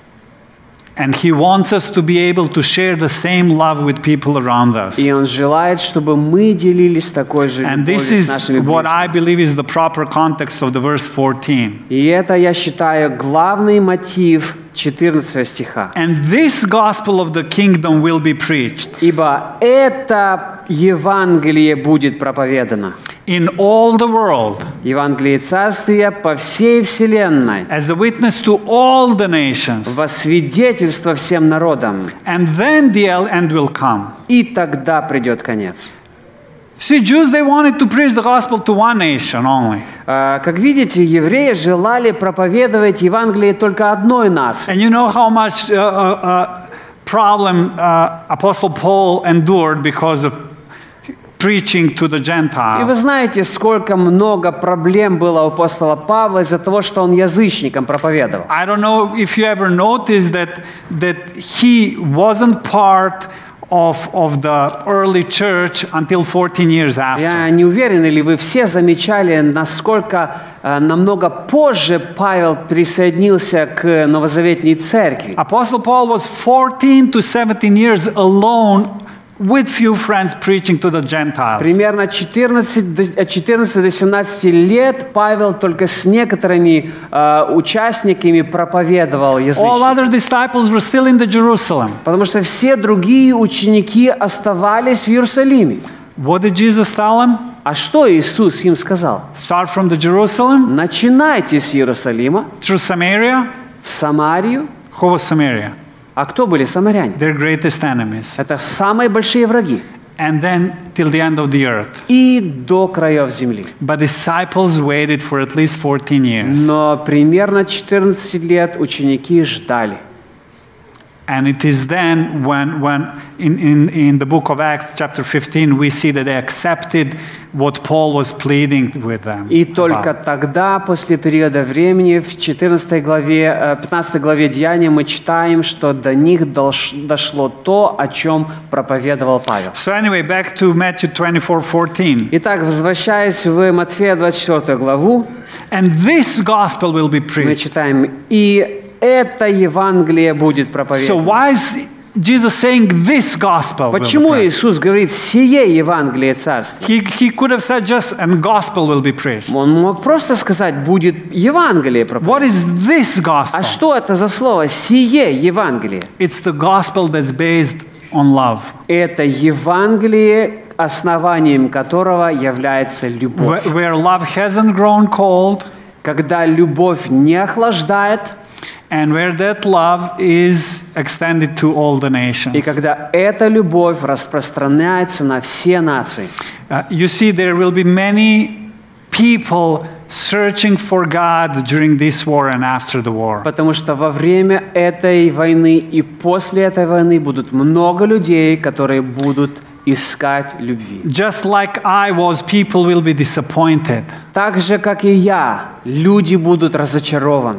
And he wants us to be able to share the same love with people around us. И Он желает, чтобы мы делились такой же And любовью this с is нашими what ближними. I believe is the proper context of the verse fourteen. И это, я считаю, главный мотив четырнадцатого стиха. And this gospel of the kingdom will be preached Ибо это Евангелие будет проповедано. in all the world Евангелие Царствия по всей вселенной, as a witness to all the nations. во свидетельство всем народам. And then the end will come. И тогда придет конец. See, Jews, they wanted to preach the gospel to one nation only. А, Как видите, евреи желали проповедовать Евангелие только одной нации. And you know how much uh, uh, uh, problem uh, Apostle Paul endured because of preaching to the И вы Gentiles. знаете, сколько много проблем было у апостола Павла из-за того, что он язычникам проповедовал. I don't know if you ever noticed that, that he wasn't part of, of the early church until fourteen years after. Я не уверен, или вы все замечали, насколько э, намного позже Павел присоединился к новозаветней церкви. Apostle Paul was fourteen to seventeen years alone with few friends preaching to the Gentiles. Примерно четырнадцать, до- от четырнадцати до семнадцати лет Павел только с некоторыми э, участниками проповедовал All язычникам. other disciples were still in the Jerusalem. Потому что все другие ученики оставались в Иерусалиме. What did Jesus tell them? А что Иисус им сказал? Start from the Jerusalem Начинайте с Иерусалима, through Samaria. в Самарию. Who was Samaria? А кто были самаряне? Their greatest enemies. Это самые большие враги. And then till the end of the earth. И до краев земли. But disciples waited for at least fourteen years. Но примерно четырнадцать лет ученики ждали. And it is then when, when in, in, in the book of Acts, chapter fifteen, we see that they accepted what Paul was pleading with them. И только about. тогда, после периода времени, в четырнадцатой главе, э, пятнадцатой главе Деяния мы читаем, что до них долш- дошло то, о чем проповедовал Павел. So anyway, back to Matthew twenty-four fourteen. Итак, возвращаясь в Матфея двадцать четвёртую главу, And this gospel will be мы preached. читаем, «И это Евангелие будет So проповедано». why is Jesus saying this gospel? will be Почему preached? Иисус говорит «сие Евангелие Царства»? He, he could have said just, and gospel will be preached. Он мог просто сказать «будет Евангелие проповедано». What is this gospel? А что это за слово «сие Евангелие»? It's the gospel that's based on love. Это Евангелие, основанием которого является любовь. Where, where love hasn't grown cold, Когда любовь не охлаждает, and where that love is extended to all the и nations. когда эта любовь распространяется на все нации. Uh, you see, there will be many people searching for God during this war and after the war. Потому что во время этой войны и после этой войны будут много людей, которые будут искать любви. Just like I was, people will be disappointed. Так же, как и я, люди будут разочарованы.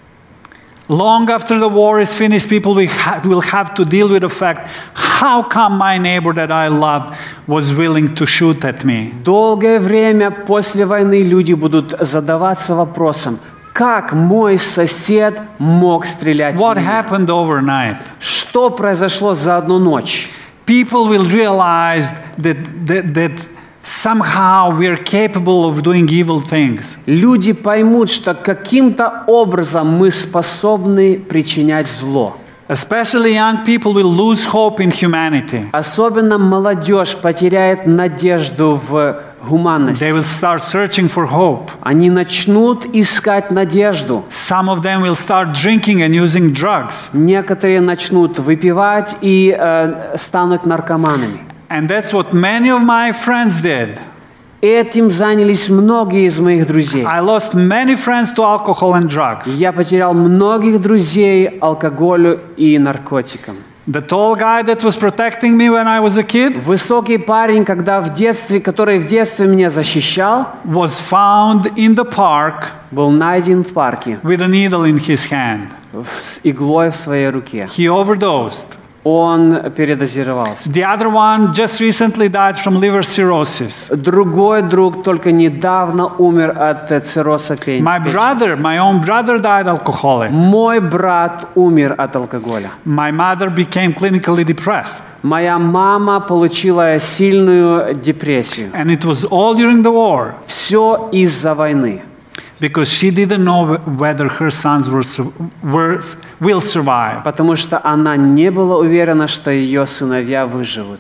Long after the war is finished, people will, ha- will have to deal with the fact, how come my neighbor that I loved was willing to shoot at me? Долгое время после войны люди будут задаваться вопросом, как мой сосед мог стрелять в What меня? happened overnight? Что произошло за одну ночь? People will realize that, that, that somehow we're capable of doing evil things. Люди поймут, что каким-то образом мы способны причинять зло. Especially young people will lose hope in humanity. Особенно молодежь потеряет надежду в гуманности. They will start searching for hope. Они начнут искать надежду. Some of them will start drinking and using drugs. Некоторые начнут выпивать и э, станут наркоманами. And that's what many of my friends did. Этим занялись многие из моих друзей. I lost many friends to alcohol and drugs. Я потерял многих друзей алкоголю и наркотикам. The tall guy that was protecting me when I was a kid Высокий парень, когда в детстве, который в детстве меня защищал, was found in the park был найден в парке with a needle in his hand. с иглой в своей руке. He overdosed. Он передозировался. The other one just recently died from liver cirrhosis. Другой друг только недавно умер от э, цирроза печени. My brother, my own brother died alcoholic. Мой брат умер от алкоголя. My mother became clinically depressed. Моя мама получила сильную депрессию. And it was all during the war Все из-за войны. because she didn't know whether her sons were, su- were, will survive. Потому что она не была уверена, что ее сыновья выживут.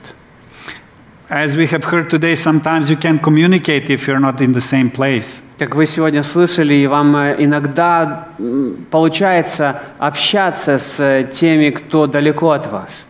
As we have heard today, sometimes you can't communicate if you're not in the same place. Как вы сегодня слышали, и вам э, иногда м, получается общаться с э, теми, кто далеко от вас.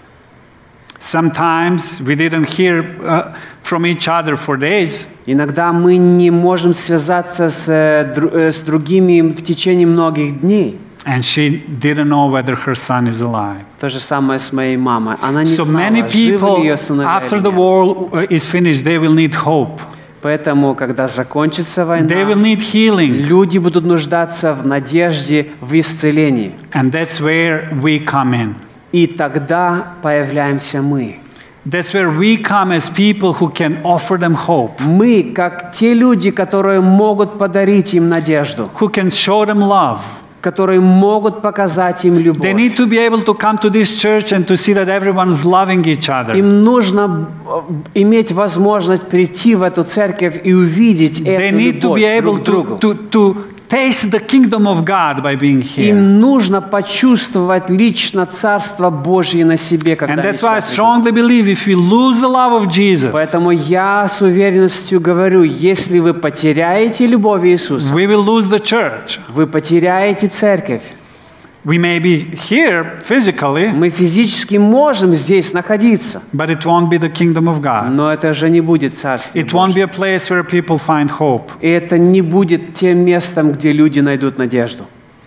Sometimes we didn't hear uh, from each other for days. Иногда мы не можем связаться с, э, дру- э, с другими в течение многих дней. And she didn't know whether her son is alive. То же самое с моей мамой. Она не So many знала, живы ли people, ее сыновья after или the нет. war uh, is finished, they will need hope. Поэтому, когда закончится война, They will need healing. люди будут нуждаться в надежде, в исцелении. And that's where we come in. И тогда появляемся мы. That's where we come as people who can offer them hope, Мы, как те люди, которые могут подарить им надежду, who can show them love. которые могут показать им They любовь. need to be able to come to this church and to see that everyone is loving each other. Им нужно э, иметь возможность прийти в эту церковь и увидеть They эту need to любовь be able друг к другу. to, to, to taste the kingdom of God by being here. Им нужно почувствовать лично Царство Божье на себе, когда And они that's why I сюда придут. strongly believe if we lose the love of Jesus, Поэтому я с уверенностью говорю, если вы потеряете любовь Иисуса, we will lose the church. вы потеряете церковь. We may be here physically, Мы физически можем здесь находиться, but it won't be the kingdom of God. но это же не будет Царство It won't Божье. be a place where people find hope. И это не будет тем местом, где люди найдут надежду.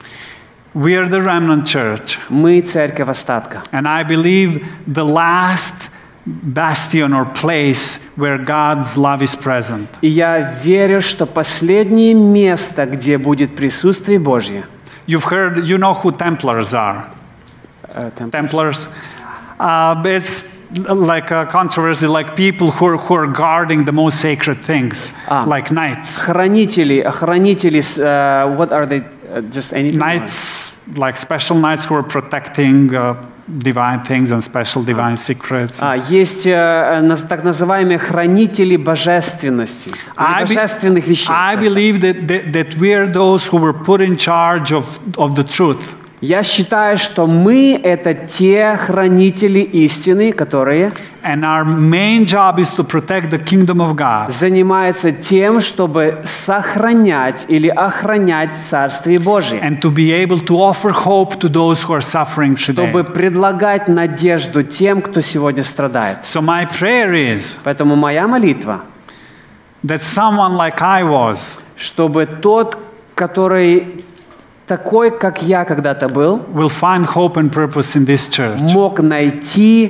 We are the remnant church, Мы церковь остатка. and I believe the last bastion or place where God's love is present. И я верю, что последнее место, где будет присутствие Божье. You've heard, you know who Templars are. э, там- Templars. Uh, it's like a controversy, like people who are, who are guarding the most sacred things, Ah. like knights. Хранители, хранители, с, э, what are they? Uh, just anything? Knights, like special knights who are protecting uh, divine things and special divine secrets. А, есть э, наз- так называемые хранители божественности, или I, be- божественных вещей. I скажем. believe that, that, that we are those who were put in charge of, of the truth. Я считаю, что мы — это те хранители истины, которые And our main job is to protect the kingdom of God. занимаются тем, чтобы сохранять или охранять Царствие Божие, And to be able to offer hope to those who are suffering чтобы today. предлагать надежду тем, кто сегодня страдает. So my prayer is Поэтому моя молитва, that someone like I was чтобы тот, который такой, как я когда-то был, will find hope and purpose in this church. мог найти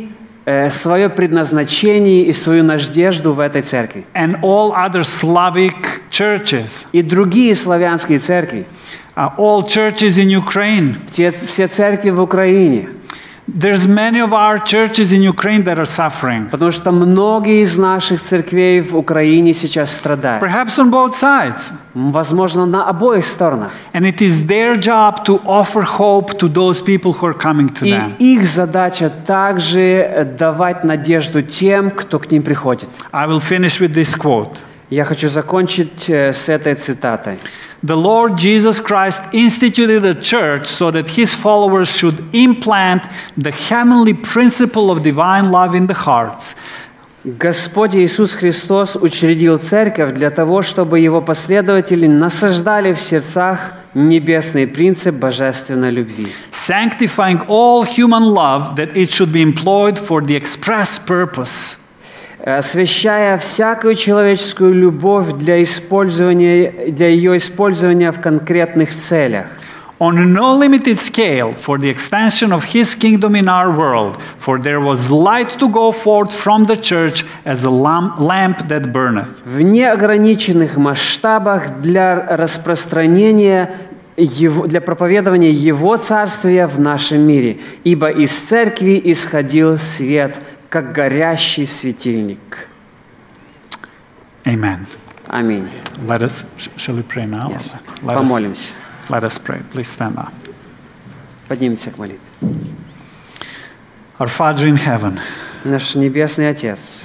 э, свое предназначение и свою надежду в этой церкви. And all other Slavic churches, И другие славянские церкви, uh, all churches in Ukraine. все, все церкви в Украине. There's many of our churches in Ukraine that are suffering. Потому что многие из наших церквей в Украине сейчас страдают. Perhaps on both sides. Возможно, на обоих сторонах. And it is their job to offer hope to those people who are coming to И them. их задача также давать надежду тем, кто к ним приходит. I will finish with this quote. Я хочу закончить с этой цитатой. The Lord Jesus Christ instituted a church so that his followers should implant the heavenly principle of divine love in the hearts. Господь Иисус Христос учредил церковь для того, чтобы его последователи насаждали в сердцах небесный принцип божественной любви. Sanctifying all human love that it should be employed for the express purpose. Освящая всякую человеческую любовь для использования, для ее использования в конкретных целях. On a no limited scale for the extension of his kingdom in our world, for there was light to go forth from the church as a lamp that burneth. В неограниченных масштабах для распространения его, для проповедования Его Царствия в нашем мире, ибо из церкви исходил свет, как горящий светильник. Amen. Аминь. Let us, shall we pray now? Yes. Let Помолимся. Us, let us pray. Please stand up. Поднимемся к молитве. Our Father in heaven, Наш Небесный Отец,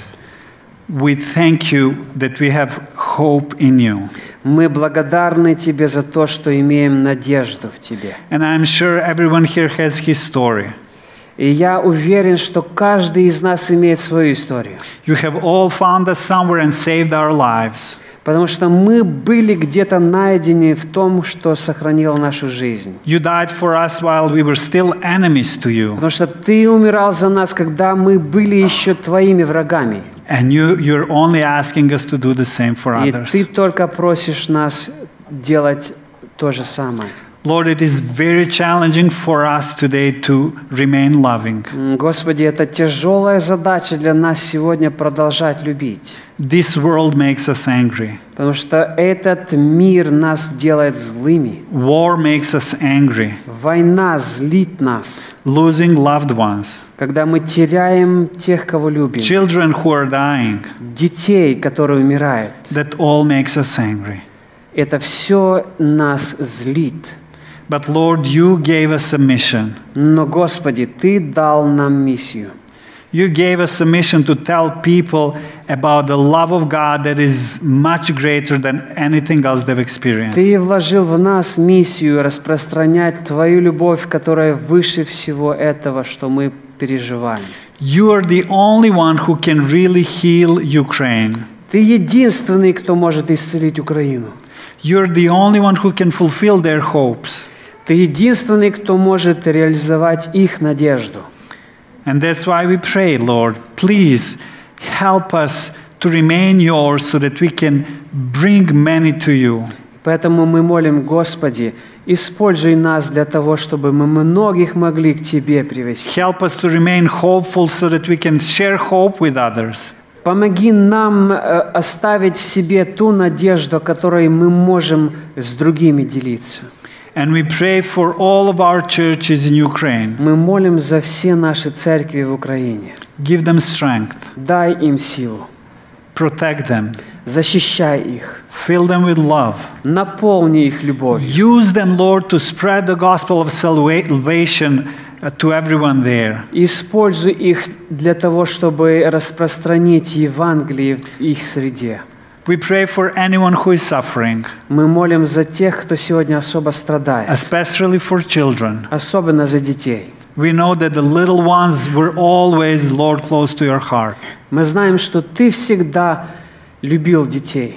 we thank you that we have hope in you. мы благодарны Тебе за то, что имеем надежду в Тебе. And I'm sure everyone here has his story. И я уверен, что каждый из нас имеет свою историю. You have all found us somewhere and saved our lives. Потому что мы были где-то найдены в том, что сохранило нашу жизнь. You died for us while we were still enemies to you. Потому что Ты умирал за нас, когда мы были еще Твоими врагами. And you, you're only asking us to do the same for И others. Ты только просишь нас делать то же самое. Lord, it is very challenging for us today to remain loving. Господи, это тяжелая задача для нас сегодня продолжать любить. This world makes us angry. Потому что этот мир нас делает злыми. War makes us angry. Война злит нас. Losing loved ones. Когда мы теряем тех, кого любим. Children who are dying. Детей, которые умирают. That all makes us angry. Это все нас злит. But Lord, you gave us a mission. Но, Господи, Ты дал нам миссию. You gave us a mission to tell people about the love of God that is much greater than anything else they've experienced. Ты вложил в нас миссию распространять Твою любовь, которая выше всего этого, что мы переживаем. You are the only one who can really heal Ukraine. Ты единственный, кто может исцелить Украину. You're the only one who can fulfill their hopes. Ты единственный, кто может реализовать их надежду. And that's why we pray, Lord, please help us to remain yours so that we can bring many to you. Поэтому мы молим, Господи, используй нас для того, чтобы мы многих могли к Тебе привести. Help us to remain hopeful so that we can share hope with others. Помоги нам оставить в себе ту надежду, которой мы можем с другими делиться. And we pray for all of our churches in Ukraine. Мы молим за все наши церкви в Украине. Give them strength. Дай им силу. Protect them. Защищай их. Fill them with love. Наполни их любовью. Use them, Lord, to spread the gospel of salvation to everyone there. Используй их для того, чтобы распространить Евангелие в их среде. We pray for anyone who is suffering. Мы молим за тех, кто сегодня особо страдает. Especially for children. Особенно за детей. We know that the little ones were always, Lord, close to your heart. Мы знаем, что Ты всегда любил детей.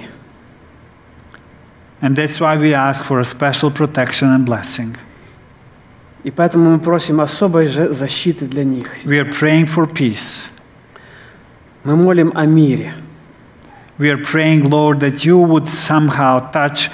And that's why we ask for a special protection and blessing. И поэтому мы просим особой защиты для них. We are praying for peace. Мы молим о мире. We are praying, Lord, that you would somehow touch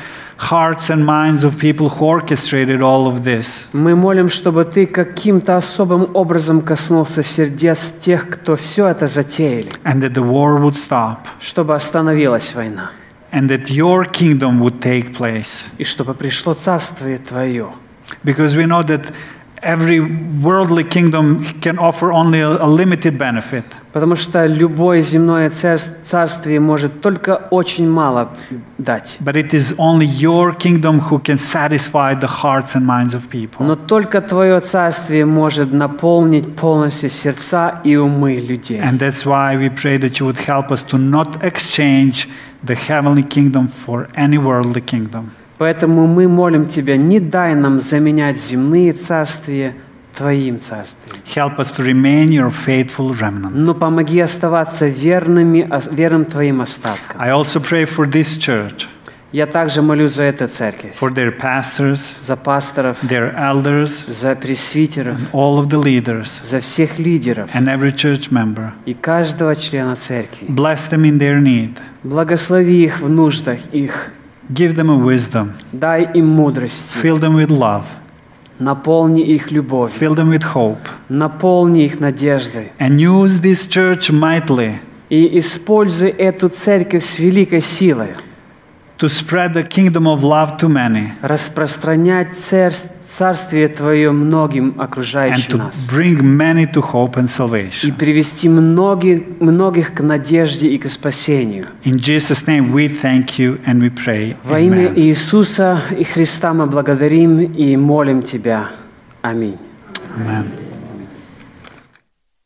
hearts and minds of people who orchestrated all of this. Мы молим, чтобы Ты каким-то особым образом коснулся сердец тех, кто все это затеяли, And that the war would stop. чтобы остановилась война, And that your kingdom would take place. и чтобы пришло Царствие Твое. Because we know that every worldly kingdom can offer only a, a limited benefit. Потому что любое земное царствие может только очень мало дать. But it is only your kingdom who can satisfy the hearts and minds of people. Но только Твое царствие может наполнить полностью сердца и умы людей. And that's why we pray that you would help us to not exchange the heavenly kingdom for any worldly kingdom. Поэтому мы молим Тебя, не дай нам заменять земные царствия Твоим царствием. Help us to remain your faithful remnant. Но помоги оставаться верными, верным Твоим остаткам. I also pray for this church, Я также молюсь за эту церковь, for their pastors, за пасторов, their elders, за пресвитеров, all of the leaders, за всех лидеров and every church member. и каждого члена церкви. Bless them in their need. Благослови их в нуждах их. Give them a wisdom. Дай им мудрости. Fill them with love. Наполни их любовью. Fill them with hope. Наполни их надеждой. And use this church mightily И используй эту церковь с великой силой. to spread the kingdom of love to many Распространять царс- царствие Твое многим and окружающим to нас. bring many to hope and И salvation. привести многих, многих к надежде и к спасению. In Jesus' name we thank you and we pray. Во имя Amen. Иисуса и Христа мы благодарим и молим Тебя. Аминь. Amen.